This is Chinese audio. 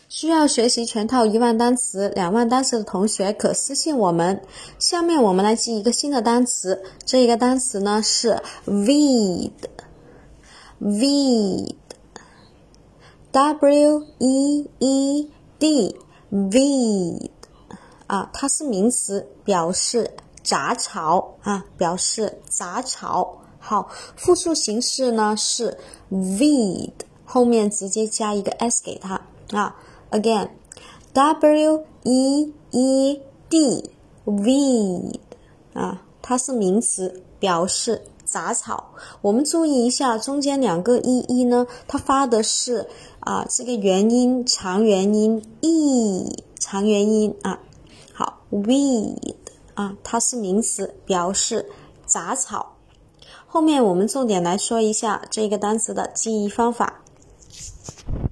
需要学习全套1万单词、2万单词的同学可私信我们。下面我们来记一个新的单词，这个单词呢是 weed， W-E-E-D， weed 它是名词，表示杂草表示杂草。好，复数形式呢是 weed， 后面直接加一个 s 给它again W-E-E-D weed 它是名词，表示杂草。我们注意一下中间2个 e 呢，它发的是这个元音长元音 e 长元音好 weed 它是名词，表示杂草。后面我们重点来说一下这个单词的记忆方法。